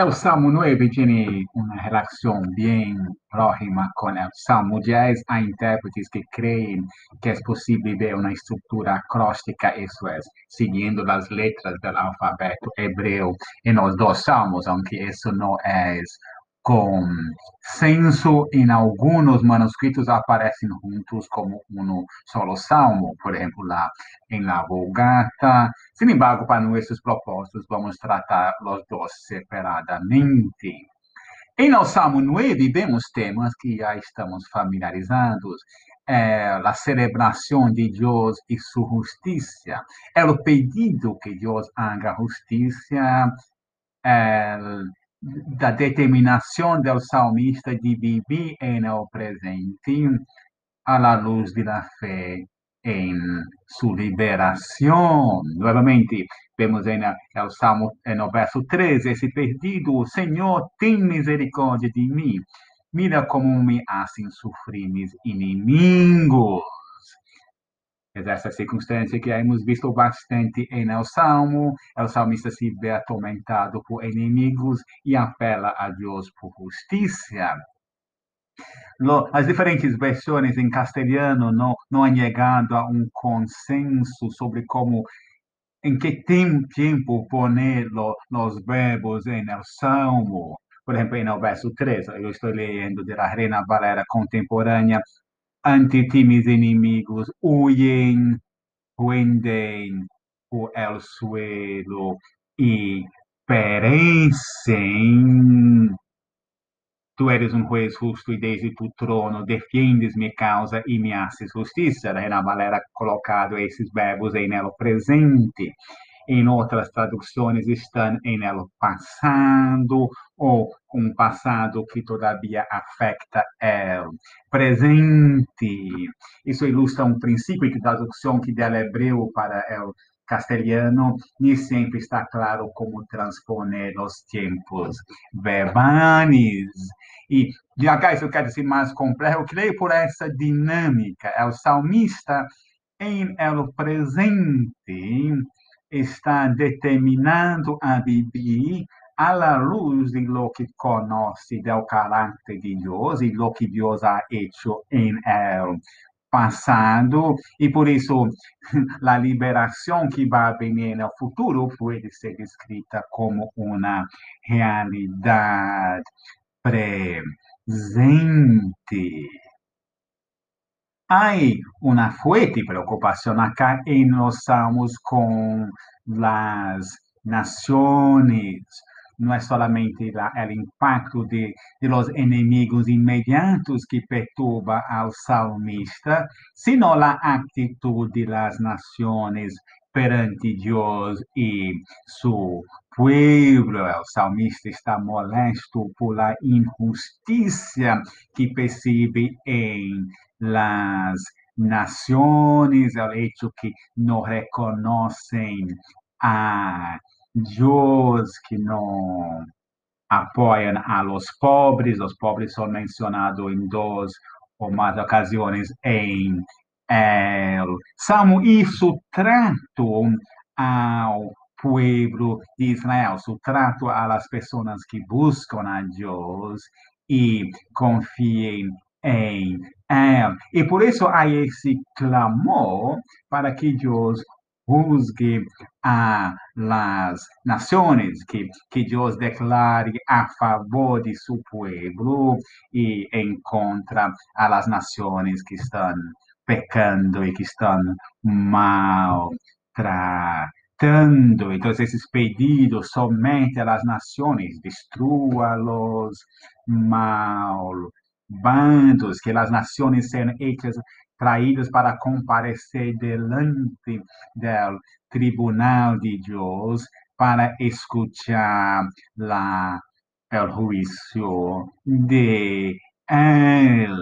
El Salmo 9 tiene una relación bien próxima con el Salmo 10. Hay intérpretes que creen que es posible ver una estructura acróstica, eso es, siguiendo las letras del alfabeto hebreo en los dos salmos, aunque eso no es consenso. En algunos manuscritos aparecen juntos como uno solo salmo, por ejemplo, en la Vulgata. Sin embargo, para nuestros propósitos, vamos tratar los dos separadamente. En el Salmo 9 vemos temas que ya estamos familiarizados. La celebración de Dios y su justicia, el pedido que Dios haga justicia, el- la determinación del salmista de vivir en el presente a la luz de la fe en su liberación. Nuevamente, vemos en el Salmo, en el verso 13, ese pedido: Señor, ten misericordia de mí. Mira cómo me hacen sufrir mis enemigos. Es essa circunstância que hemos visto bastante en el Salmo. El salmista se ve atormentado por enemigos y apela a Dios por justicia. As diferentes versões em castelhano não han llegado a um consenso sobre como, em que tempo poner los verbos en el salmo. Por ejemplo, en el verso 3, eu estou leyendo de la Reina Valera contemporánea: ante ti mis enemigos huyen, huenden por el suelo y perecen. Tu eres um juez justo e desde tu trono defiendes minha causa e me haces justiça. Reina Valera colocado esses verbos em elo presente. Em outras traduções estão em elo passado ou um passado que todavia afeta el presente. Isso ilustra um princípio de tradução que del hebreu para el castelhano nem sempre está claro como transponer os tempos verbais. E de acá isso quer dizer mais complexo. Eu creio por essa dinâmica. O salmista, em el presente, está determinado a viver a la luz de lo que conoce del carácter de Dios y lo que Dios ha hecho en el pasado, y por eso la liberación que va a venir en el futuro puede ser descrita como una realidad presente. Hay una fuerte preocupación acá en los salmos con las naciones. No es solamente el impacto de los enemigos inmediatos que perturba al salmista, sino la actitud de las naciones perante Dios y su pueblo. El salmista está molesto por la injusticia que percibe en las naciones, el hecho que no reconocen a Dios, que no apoiam a los pobres são mencionados em duas ou mais ocasiões em el Salmo. Isso trato ao pueblo de Israel, su trato a las personas que buscam a Deus e confiem em Él. E por isso há esse clamor para que Deus juzgue a las naciones, que Dios declare a favor de su pueblo y en contra a las naciones que están pecando y que están maltratando. Entonces, esos pedidos somete a las naciones, destrúalos, malvados, que las naciones sean hechas traídas para comparecer delante del tribunal de Dios para escuchar el juicio de Él.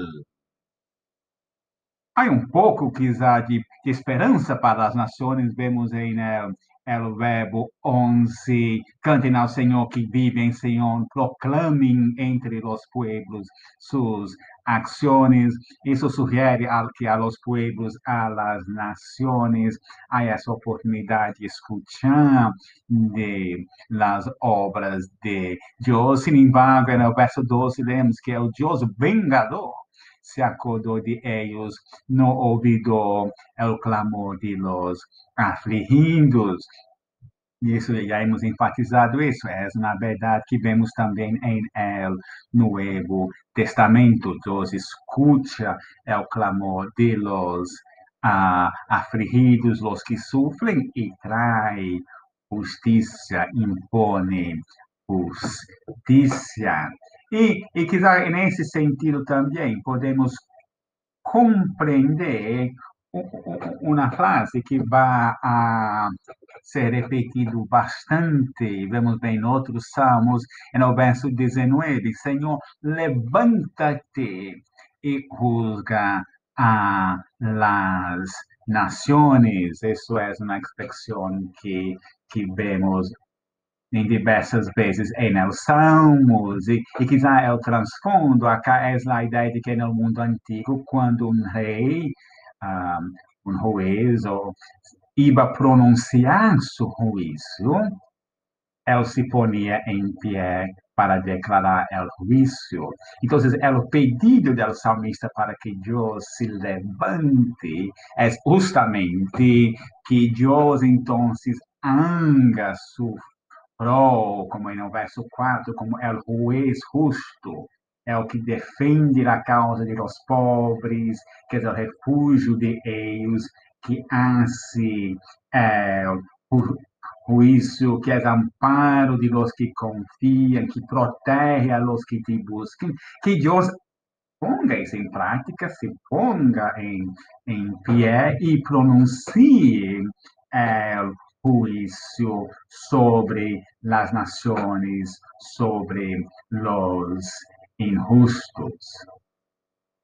Há um pouco quizá de esperança para as nações, vemos em el verbo 11, canten al Señor que vive en Sion, proclamen entre los pueblos sus acciones. Eso sugiere que a los pueblos, a las naciones, hay esa oportunidad de escuchar de las obras de Dios. Sin embargo, en el verso 12 leemos que el Dios vengador se acordó de ellos, no olvidó el clamor de los afligidos. E isso já hemos enfatizado isso, é uma verdade que vemos também em el Nuevo Testamento. Deus escuta o clamor de los afligidos, los que sufren, e trae justiça, impone justiça. E quizá nesse sentido também podemos compreender uma frase que vai a ser repetido bastante, vemos bem em outros salmos, no verso 19, Senhor, levanta-te e juzga a las naciones. Isso é uma expressão que vemos em diversas vezes em os Salmos, e quizá é o transfundo, acá é a ideia de que no mundo antigo, quando um rei, um juiz, iba pronunciar seu juízo, ele se ponia em pé para declarar o juízo. Então, o pedido do salmista para que Deus se levante é justamente que Deus, então, haga su como no verso 4, como el juez justo, é o que defende a causa de los pobres, que é o refúgio de eles, que hace o juízo, que é amparo de los que confiam, que protege a los que te buscam, que Deus ponga isso em prática, se ponga em pé e pronuncie juicio sobre las naciones, sobre los injustos.